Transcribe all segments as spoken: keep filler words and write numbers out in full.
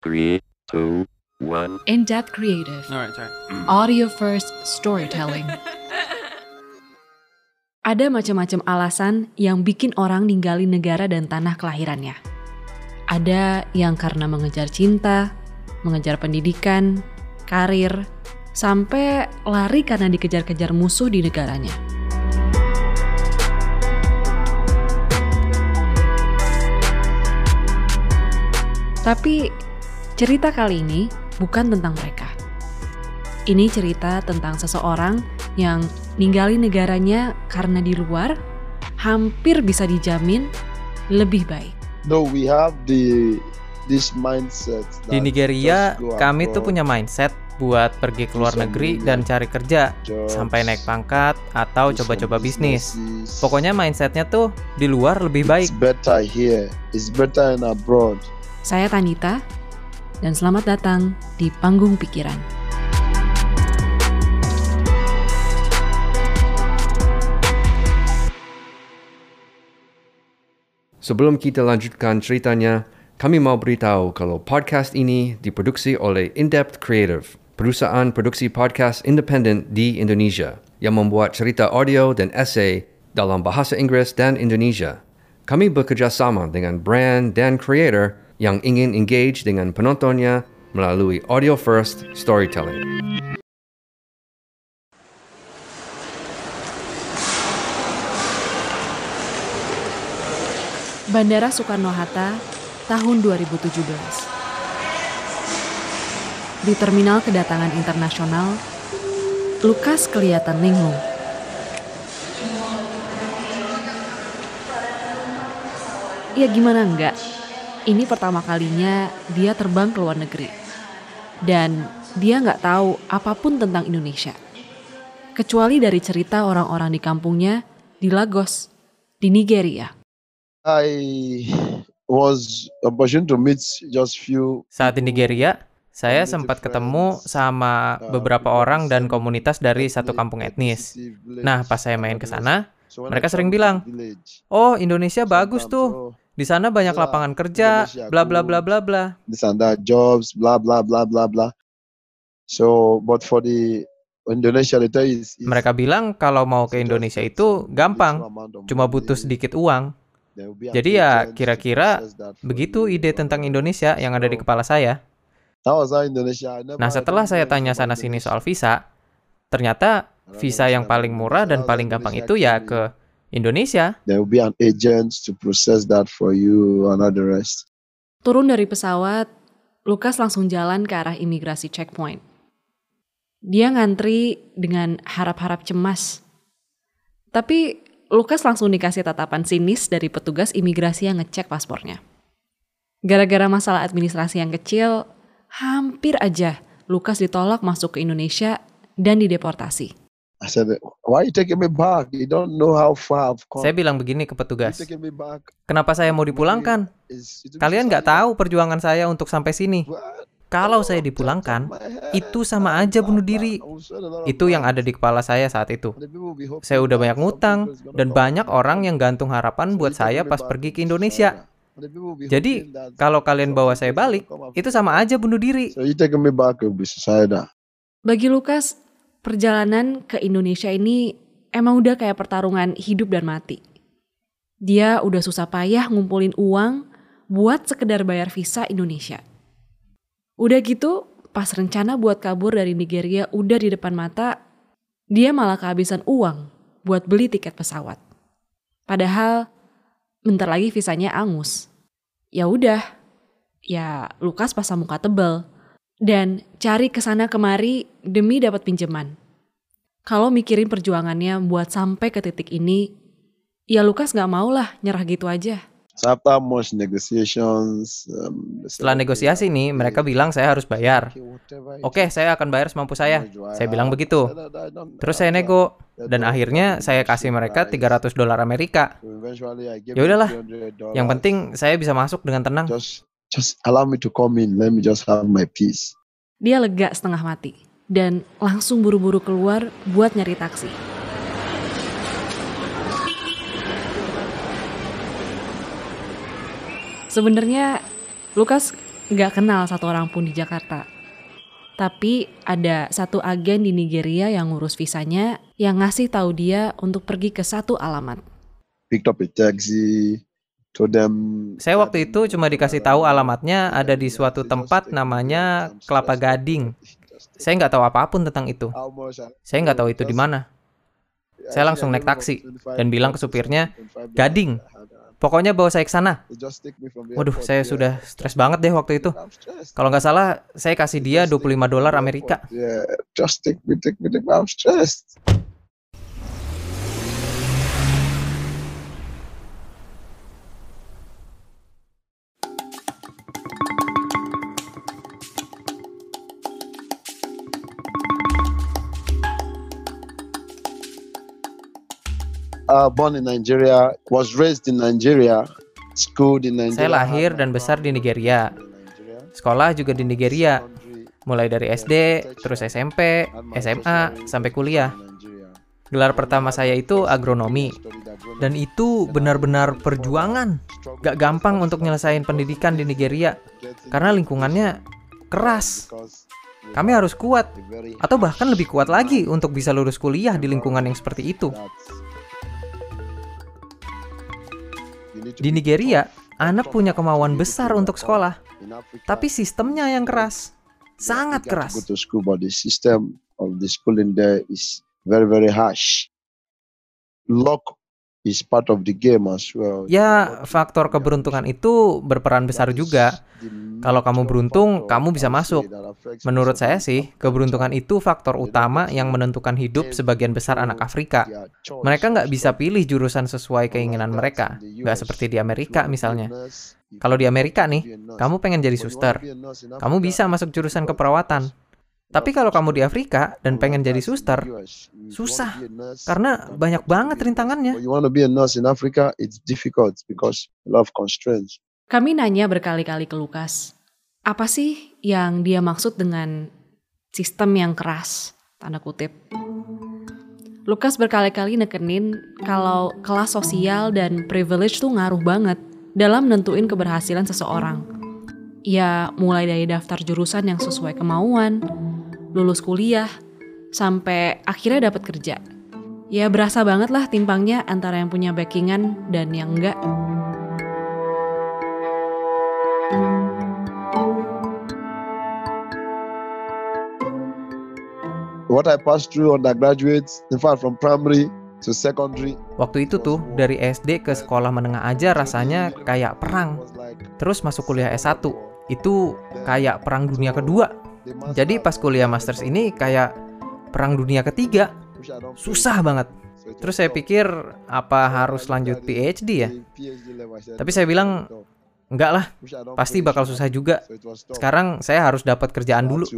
Three, two, one. In-depth creative. Alright, sorry. Audio first storytelling. Ada macam-macam alasan yang bikin orang ninggalin negara dan tanah kelahirannya. Ada yang karena mengejar cinta, mengejar pendidikan, karir, sampai lari karena dikejar-kejar musuh di negaranya. Tapi cerita kali ini bukan tentang mereka. Ini cerita tentang seseorang yang ninggalin negaranya karena di luar hampir bisa dijamin lebih baik. No, we have the this mindset. Di Nigeria, kami tuh punya mindset buat pergi ke luar negeri dan cari kerja, sampai naik pangkat atau coba-coba bisnis. Pokoknya mindsetnya tuh di luar lebih baik. It's better here. It's better in abroad. Saya Tanita, dan selamat datang di Panggung Pikiran. Sebelum kita lanjutkan ceritanya, kami mau beritahu kalau podcast ini diproduksi oleh In-Depth Creative, perusahaan produksi podcast independen di Indonesia yang membuat cerita audio dan esei dalam bahasa Inggris dan Indonesia. Kami bekerja sama dengan brand dan creator yang ingin engage dengan penontonnya melalui audio first storytelling. Bandara Soekarno-Hatta, tahun dua ribu tujuh belas. Di terminal kedatangan internasional, Lukas kelihatan linglung. Ya gimana enggak? Ini pertama kalinya dia terbang ke luar negeri. Dan dia nggak tahu apapun tentang Indonesia. Kecuali dari cerita orang-orang di kampungnya di Lagos, di Nigeria. I was opportunity to meet just few. Saat di Nigeria, saya sempat ketemu sama beberapa orang dan komunitas dari satu kampung etnis. Nah, pas saya main ke sana, mereka sering bilang, "Oh, Indonesia bagus tuh. Di sana banyak lapangan kerja, bla bla bla bla bla." This and that jobs, blah blah blah blah blah. So, but for the Indonesia itu is, is Mereka bilang kalau mau ke Indonesia itu gampang, cuma butuh sedikit uang. Jadi ya kira-kira begitu ide tentang Indonesia yang ada di kepala saya. Nah, setelah saya tanya sana-sini soal visa, ternyata visa yang paling murah dan paling gampang itu ya ke Indonesia. There will be an agent to process that for you and all the rest. Turun dari pesawat, Lukas langsung jalan ke arah imigrasi checkpoint. Dia ngantri dengan harap-harap cemas. Tapi Lukas langsung dikasih tatapan sinis dari petugas imigrasi yang ngecek paspornya. Gara-gara masalah administrasi yang kecil, hampir aja Lukas ditolak masuk ke Indonesia dan dideportasi. I said, why you taking me back? You don't know how far I've come. Saya bilang begini ke petugas, You taking me back? kenapa saya mau dipulangkan? Is- it- Kalian nggak tahu perjuangan saya untuk sampai sini. What? Kalau saya dipulangkan, itu sama aja bunuh diri. Itu yang ada di kepala saya saat itu. Saya udah banyak ngutang, dan banyak orang yang gantung harapan buat saya pas pergi ke Indonesia. Jadi, kalau kalian bawa saya balik, itu sama aja bunuh diri. So you taking me back will be suicidal. Bagi Lukas, perjalanan ke Indonesia ini emang udah kayak pertarungan hidup dan mati. Dia udah susah payah ngumpulin uang buat sekedar bayar visa Indonesia. Udah gitu, pas rencana buat kabur dari Nigeria udah di depan mata, dia malah kehabisan uang buat beli tiket pesawat. Padahal bentar lagi visanya angus. Ya udah, ya Lukas pasang muka tebel dan cari kesana kemari demi dapat pinjaman. Kalau mikirin perjuangannya buat sampai ke titik ini, ya Lukas gak maulah nyerah gitu aja. So after much negotiations, um, Setelah negosiasi nih, mereka bilang saya harus bayar. Oke, saya akan bayar semampu saya. Saya bilang begitu. Terus saya nego, dan akhirnya saya kasih mereka tiga ratus dolar Amerika. Ya udahlah, yang penting saya bisa masuk dengan tenang. just just allow me to come in. Let me just have my peace. Dia lega setengah mati dan langsung buru-buru keluar buat nyari taksi. Sebenarnya Lukas nggak kenal satu orang pun di Jakarta. Tapi ada satu agen di Nigeria yang ngurus visanya yang ngasih tahu dia untuk pergi ke satu alamat. Picked up a taxi, told them. Saya waktu itu cuma dikasih tahu alamatnya ada di suatu tempat namanya Kelapa Gading. Saya nggak tahu apapun tentang itu. Saya nggak tahu itu di mana. Saya langsung naik taksi dan bilang ke supirnya, Gading, pokoknya bawa saya ke sana. Waduh, saya sudah stres banget deh waktu itu. Kalau nggak salah, saya kasih dia dua puluh lima dolar Amerika. Just take me, take me, take me. I'm stressed. Uh, born in Nigeria, was raised in Nigeria, schooled in Nigeria. Saya lahir dan besar di Nigeria. Sekolah juga di Nigeria. Mulai dari S D, terus S M P, S M A, sampai kuliah. Gelar pertama saya itu agronomi. Dan itu benar-benar perjuangan. Gak gampang untuk nyelesain pendidikan di Nigeria. Karena lingkungannya keras. Kami harus kuat. Atau bahkan lebih kuat lagi untuk bisa lulus kuliah di lingkungan yang seperti itu. Di Nigeria, anak punya kemauan besar untuk sekolah, tapi sistemnya yang keras, sangat keras. Ya, faktor keberuntungan itu berperan besar juga. Kalau kamu beruntung, kamu bisa masuk. Menurut saya sih, keberuntungan itu faktor utama yang menentukan hidup sebagian besar anak Afrika. Mereka nggak bisa pilih jurusan sesuai keinginan mereka. Nggak seperti di Amerika misalnya. Kalau di Amerika nih, kamu pengen jadi suster. Kamu bisa masuk jurusan keperawatan. Tapi kalau kamu di Afrika dan pengen jadi suster, susah. Karena banyak banget rintangannya. Kami nanya berkali-kali ke Lukas, apa sih yang dia maksud dengan sistem yang keras, tanda kutip. Lukas berkali-kali nekenin kalau kelas sosial dan privilege tuh ngaruh banget dalam nentuin keberhasilan seseorang. Ya mulai dari daftar jurusan yang sesuai kemauan, lulus kuliah, sampai akhirnya dapat kerja. Ya berasa banget lah timpangnya antara yang punya backingan dan yang enggak. What I passed through undergraduate, in fact from primary to secondary. Waktu itu tuh dari S D ke sekolah menengah aja rasanya kayak perang. Terus masuk kuliah S satu, itu kayak perang dunia kedua. Jadi pas kuliah masters ini kayak perang dunia ketiga. Susah banget. Terus saya pikir apa harus lanjut P H D ya? Tapi saya bilang enggak lah, pasti bakal susah juga. Sekarang saya harus dapat kerjaan dulu.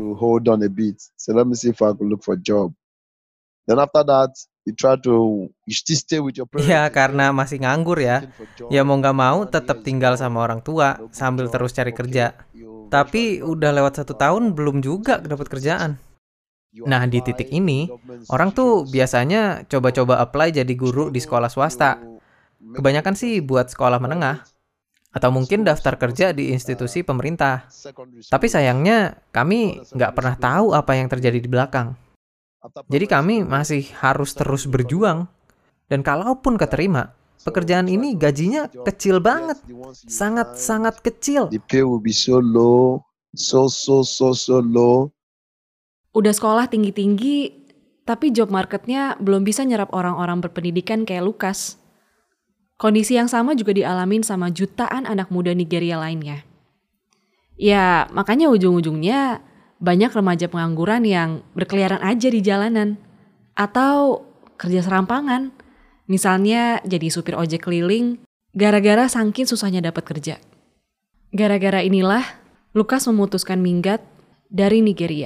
Ya karena masih nganggur ya. Ya mau nggak mau tetap tinggal sama orang tua sambil terus cari kerja. Tapi udah lewat satu tahun belum juga dapat kerjaan. Nah di titik ini, orang tuh biasanya coba-coba apply jadi guru di sekolah swasta. Kebanyakan sih buat sekolah menengah. Atau mungkin daftar kerja di institusi pemerintah. Tapi sayangnya kami nggak pernah tahu apa yang terjadi di belakang. Jadi kami masih harus terus berjuang. Dan kalaupun keterima, pekerjaan ini gajinya kecil banget. Sangat-sangat kecil. The pay will be so low, so so so so low. Udah sekolah tinggi-tinggi, tapi job marketnya belum bisa nyerap orang-orang berpendidikan kayak Lukas. Kondisi yang sama juga dialamin sama jutaan anak muda Nigeria lainnya. Ya, makanya ujung-ujungnya banyak remaja pengangguran yang berkeliaran aja di jalanan. Atau kerja serampangan. Misalnya jadi supir ojek keliling, gara-gara saking susahnya dapat kerja. Gara-gara inilah, Lukas memutuskan minggat dari Nigeria.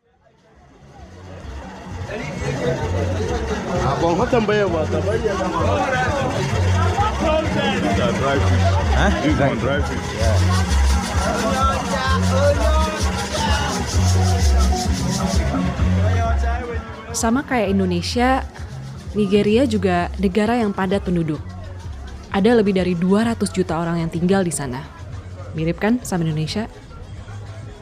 Hah? Drive fish. Yeah. Sama kayak Indonesia, Nigeria juga negara yang padat penduduk. Ada lebih dari dua ratus juta orang yang tinggal di sana. Mirip kan sama Indonesia?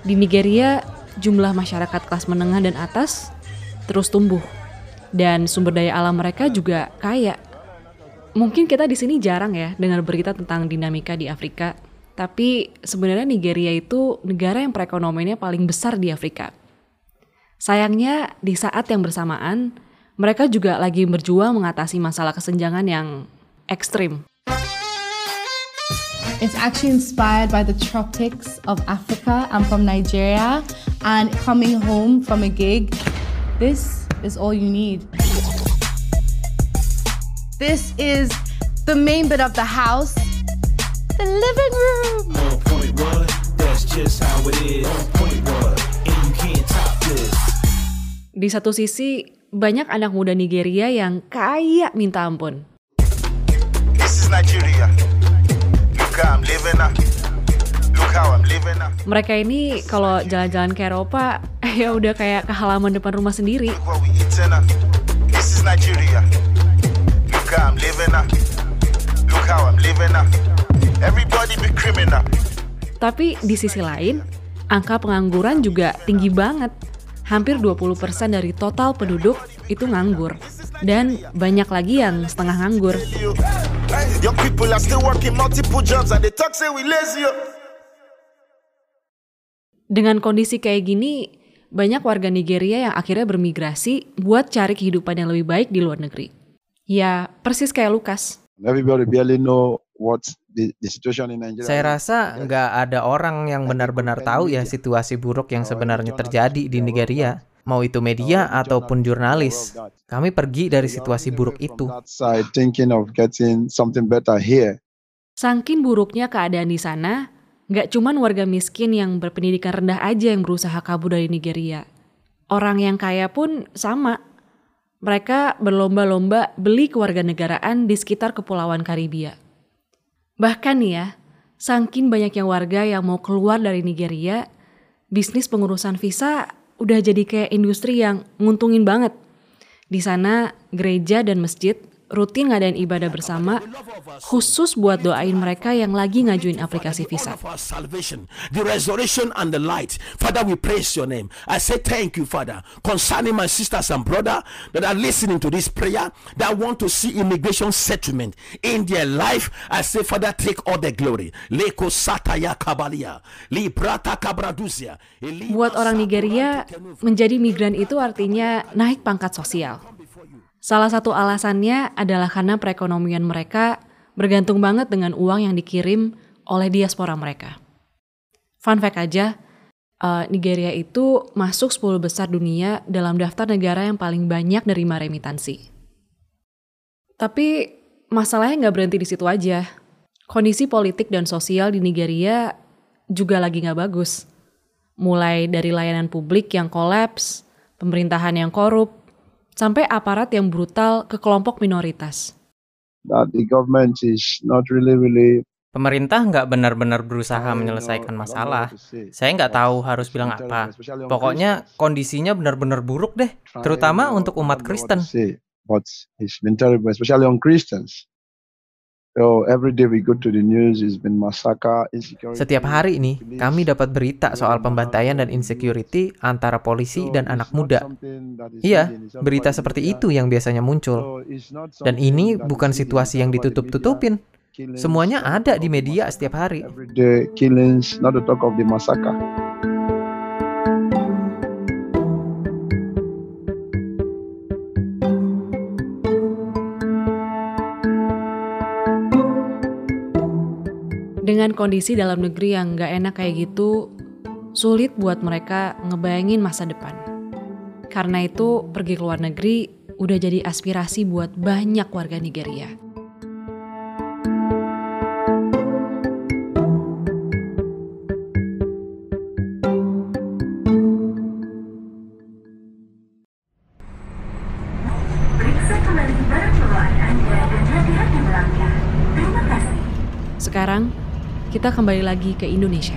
Di Nigeria, jumlah masyarakat kelas menengah dan atas terus tumbuh. Dan sumber daya alam mereka juga kaya. Mungkin kita di sini jarang ya dengar berita tentang dinamika di Afrika. Tapi sebenarnya Nigeria itu negara yang perekonomiannya paling besar di Afrika. Sayangnya di saat yang bersamaan, mereka juga lagi berjuang mengatasi masalah kesenjangan yang ekstrim. It's actually inspired by the tropics of Africa. I'm from Nigeria, and coming home from a gig, this is all you need. This is the main bit of the house, the living room. one point one, that's just how it is. one point one, and you can't top this. Di satu sisi, banyak anak muda Nigeria yang kaya minta ampun. This is Nigeria. Look how I'm living now. Look how I'm living now. Mereka ini kalau jalan-jalan ke Eropa, ya udah kayak ke halaman depan rumah sendiri. Look what we eating now. This is Nigeria. Look how I'm living now. Look how I'm living now. Everybody be criminal. Tapi di sisi lain, angka pengangguran juga tinggi banget. Hampir dua puluh persen dari total penduduk itu nganggur. Dan banyak lagi yang setengah nganggur. Young people are still working multiple jobs and they talk say we lazy. Dengan kondisi kayak gini, banyak warga Nigeria yang akhirnya bermigrasi buat cari kehidupan yang lebih baik di luar negeri. Ya, persis kayak Lukas. Everybody barely know what the, the situation in Nigeria. Saya rasa nggak ada orang yang benar-benar tahu ya situasi buruk yang sebenarnya terjadi di Nigeria. Mau itu media ataupun jurnalis. Kami pergi dari situasi buruk itu. Saking buruknya keadaan di sana, nggak cuman warga miskin yang berpendidikan rendah aja yang berusaha kabur dari Nigeria. Orang yang kaya pun sama. Mereka berlomba-lomba beli kewarganegaraan di sekitar Kepulauan Karibia. Bahkan nih ya, saking banyaknya warga yang mau keluar dari Nigeria, bisnis pengurusan visa udah jadi kayak industri yang nguntungin banget. Di sana, gereja dan masjid rutin ngadain ibadah bersama khusus buat doain mereka yang lagi ngajuin aplikasi visa. The resurrection and the light. Father, we praise your name. I say thank you, Father, concerning my sisters and brother that are listening to this prayer, that want to see immigration settlement in their life. I say, Father, take all the glory. Leko sataya kabalia, librata kabraduzia. Buat orang Nigeria, menjadi migran itu artinya naik pangkat sosial. Salah satu alasannya adalah karena perekonomian mereka bergantung banget dengan uang yang dikirim oleh diaspora mereka. Fun fact aja, uh, Nigeria itu masuk sepuluh besar dunia dalam daftar negara yang paling banyak nerima remitansi. Tapi masalahnya nggak berhenti di situ aja. Kondisi politik dan sosial di Nigeria juga lagi nggak bagus. Mulai dari layanan publik yang kolaps, pemerintahan yang korup, sampai aparat yang brutal ke kelompok minoritas. That the government is not really, really... Pemerintah nggak benar-benar berusaha menyelesaikan masalah. Saya nggak tahu harus bilang apa. Pokoknya kondisinya benar-benar buruk deh, terutama untuk umat Kristen. But it's been terrible, especially on Christians. So every day we go to the news, it's been massacre, insecurity. Setiap hari ini kami dapat berita soal pembantaian dan insecurity antara polisi dan anak muda. Iya, berita seperti itu yang biasanya muncul. Dan ini bukan situasi yang ditutup-tutupin. Semuanya ada di media setiap hari. The killings, not to talk of the massacre. Dengan kondisi dalam negeri yang gak enak kayak gitu, sulit buat mereka ngebayangin masa depan. Karena itu, pergi ke luar negeri udah jadi aspirasi buat banyak warga Nigeria. Sekarang, kita kembali lagi ke Indonesia.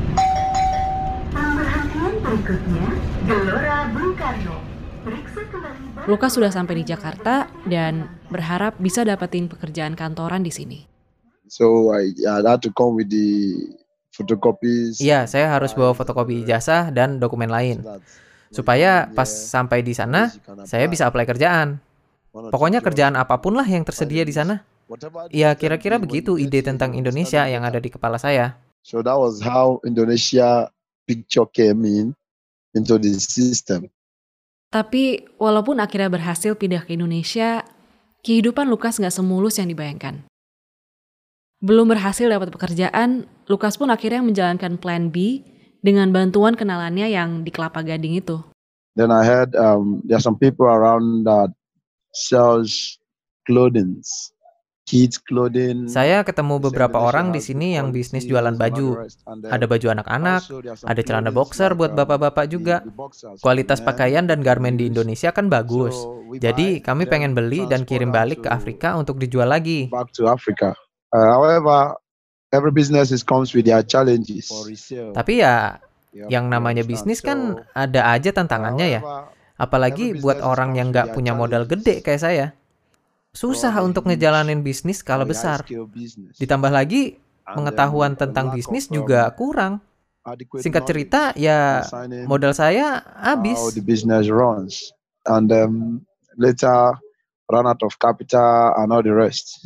Lukas sudah sampai di Jakarta dan berharap bisa dapetin pekerjaan kantoran di sini. So I, I had to come with the photocopies. Iya, saya harus bawa fotokopi ijazah dan dokumen lain. Supaya pas sampai di sana, saya bisa apply kerjaan. Pokoknya kerjaan apapun lah yang tersedia di sana. Ya kira-kira begitu ide tentang Indonesia yang ada di kepala saya. So that was how Indonesia picture came in into the system. Tapi walaupun akhirnya berhasil pindah ke Indonesia, kehidupan Lukas nggak semulus yang dibayangkan. Belum berhasil dapat pekerjaan, Lukas pun akhirnya menjalankan plan B dengan bantuan kenalannya yang di Kelapa Gading itu. Then I heard um, there are some people around that sells clothing, kids clothing. Saya ketemu beberapa orang di sini yang bisnis jualan baju. Ada baju anak-anak, ada celana boxer buat bapak-bapak juga. Kualitas pakaian dan garmen di Indonesia kan bagus. Jadi kami pengen beli dan kirim balik ke Afrika untuk dijual lagi. Back to Africa. Uh, however, every business is comes with their challenges. Tapi ya, yang namanya bisnis kan ada aja tantangannya ya. Apalagi buat orang yang nggak punya modal gede kayak saya. Susah untuk ngejalanin bisnis skala besar. Ditambah lagi, pengetahuan tentang bisnis juga kurang. Singkat cerita, ya modal saya habis. How the business runs. And um, later, run out of capital and all the rest.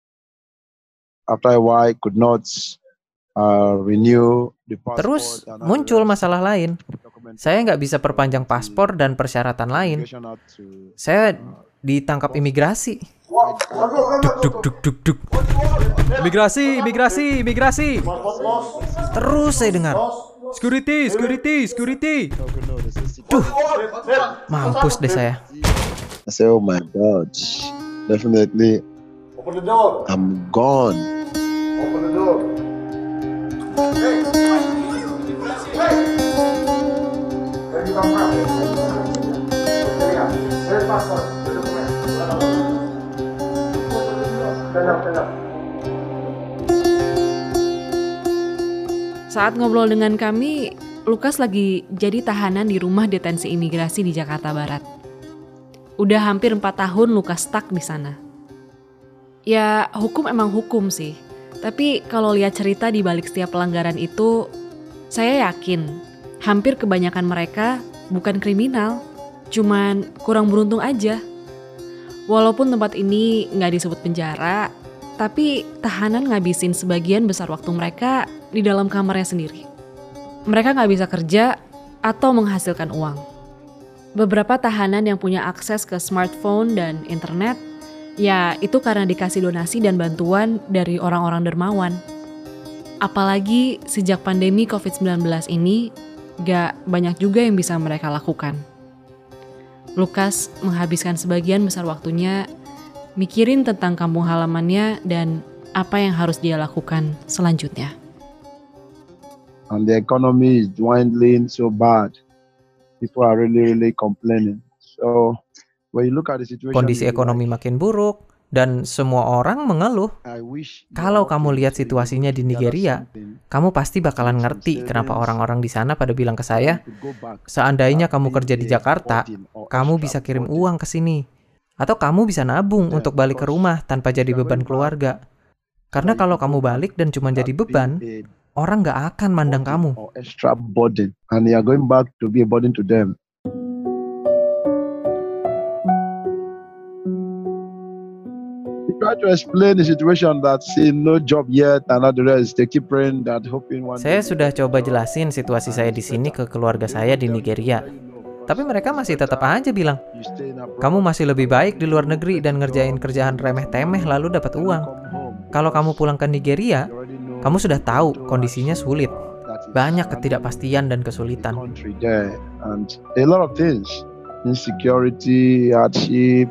After a while, could not uh, renew the passport. Terus muncul masalah lain. Saya nggak bisa perpanjang paspor dan persyaratan lain. Saya ditangkap imigrasi. Duk duk duk duk duk. Imigrasi, imigrasi, imigrasi. Terus saya dengar. Security, security, security. Duh, mampus deh saya. I say, oh my God, definitely. Open the door. I'm gone. Open the door. Hey. Hey. Where you come from? Where's passport? Stand up, stand up. Saat ngobrol dengan kami, Lukas lagi jadi tahanan di rumah detensi imigrasi di Jakarta Barat. Udah hampir empat tahun Lukas stuck di sana. Ya, hukum emang hukum sih. Tapi kalau lihat cerita di balik setiap pelanggaran itu, saya yakin hampir kebanyakan mereka bukan kriminal, cuman kurang beruntung aja. Walaupun tempat ini nggak disebut penjara, tapi tahanan ngabisin sebagian besar waktu mereka di dalam kamarnya sendiri. Mereka nggak bisa kerja atau menghasilkan uang. Beberapa tahanan yang punya akses ke smartphone dan internet, ya itu karena dikasih donasi dan bantuan dari orang-orang dermawan. Apalagi sejak pandemi covid sembilan belas ini, gak banyak juga yang bisa mereka lakukan. Lukas menghabiskan sebagian besar waktunya mikirin tentang kampung halamannya dan apa yang harus dia lakukan selanjutnya. And the economy is dwindling so bad. People are really, really complaining. So kondisi ekonomi makin buruk dan semua orang mengeluh. Kalau kamu lihat situasinya di Nigeria, kamu pasti bakalan ngerti kenapa orang-orang di sana pada bilang ke saya, seandainya kamu kerja di Jakarta, kamu bisa kirim uang ke sini. Atau kamu bisa nabung untuk balik ke rumah tanpa jadi beban keluarga. Karena kalau kamu balik dan cuma jadi beban, orang gak akan mandang kamu. Try to explain the situation that see no job yet and all the rest. They keep praying that hoping one. Saya sudah coba jelasin situasi saya di sini ke keluarga saya di Nigeria. Tapi mereka masih tetap aja bilang, kamu masih lebih baik di luar negeri dan ngerjain kerjaan remeh-temeh lalu dapat uang. Kalau kamu pulang ke Nigeria, kamu sudah tahu kondisinya sulit. Banyak ketidakpastian dan kesulitan. And a lot of things, insecurity, hardship.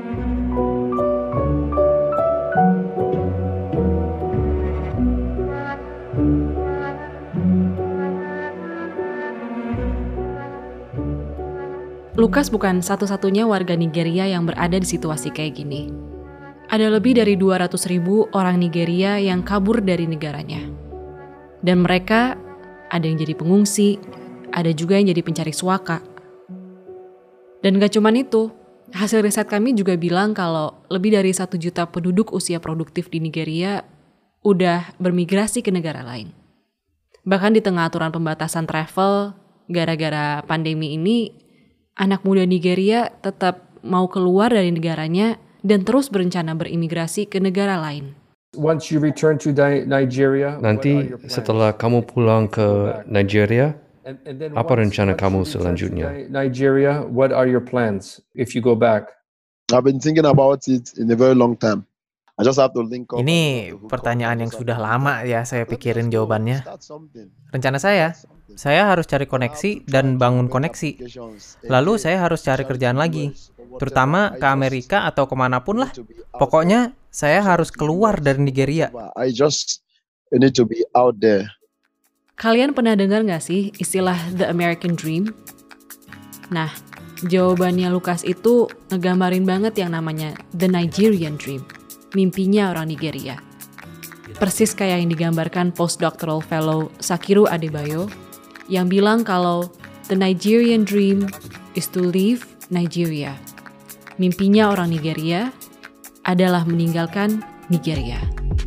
Lukas bukan satu-satunya warga Nigeria yang berada di situasi kayak gini. Ada lebih dari dua ratus ribu orang Nigeria yang kabur dari negaranya. Dan mereka ada yang jadi pengungsi, ada juga yang jadi pencari suaka. Dan gak cuman itu, hasil riset kami juga bilang kalau lebih dari satu juta penduduk usia produktif di Nigeria udah bermigrasi ke negara lain. Bahkan di tengah aturan pembatasan travel gara-gara pandemi ini, anak muda Nigeria tetap mau keluar dari negaranya dan terus berencana berimigrasi ke negara lain. Once you return to Nigeria, Nanti setelah kamu pulang ke Nigeria, apa rencana kamu selanjutnya? Nigeria, what are your plans if you go back? I've been thinking about it in a very long time. I just have to link up. Ini pertanyaan yang sudah lama ya saya pikirin jawabannya. Rencana saya, saya harus cari koneksi dan bangun koneksi. Lalu saya harus cari kerjaan lagi, terutama ke Amerika atau kemanapun lah. Pokoknya saya harus keluar dari Nigeria. I just need to be out there. Kalian pernah dengar nggak sih istilah The American Dream? Nah, jawabannya Lukas itu ngegambarin banget yang namanya The Nigerian Dream. Mimpinya orang Nigeria. Persis kayak yang digambarkan postdoctoral fellow Sakiru Adebayo yang bilang kalau the Nigerian dream is to leave Nigeria. Mimpinya orang Nigeria adalah meninggalkan Nigeria.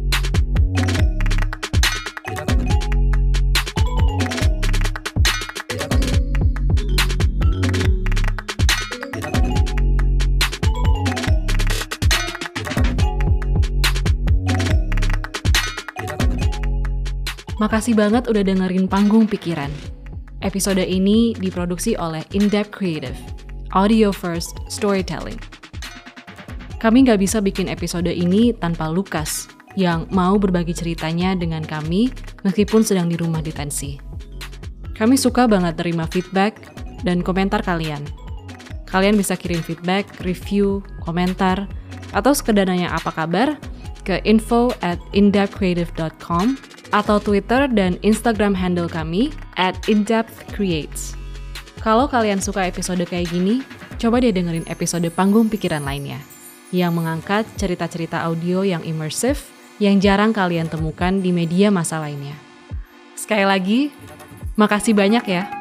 Makasih banget udah dengerin Panggung Pikiran. Episode ini diproduksi oleh In-Depth Creative, Audio First Storytelling. Kami nggak bisa bikin episode ini tanpa Lukas, yang mau berbagi ceritanya dengan kami meskipun sedang di rumah detensi. Kami suka banget terima feedback dan komentar kalian. Kalian bisa kirim feedback, review, komentar, atau sekedar nanya apa kabar ke info at indepthcreative dot com atau Twitter dan Instagram handle kami at indepthcreates. Kalau kalian suka episode kayak gini, coba deh dengerin episode Panggung Pikiran lainnya, yang mengangkat cerita-cerita audio yang imersif yang jarang kalian temukan di media massa lainnya. Sekali lagi, makasih banyak ya.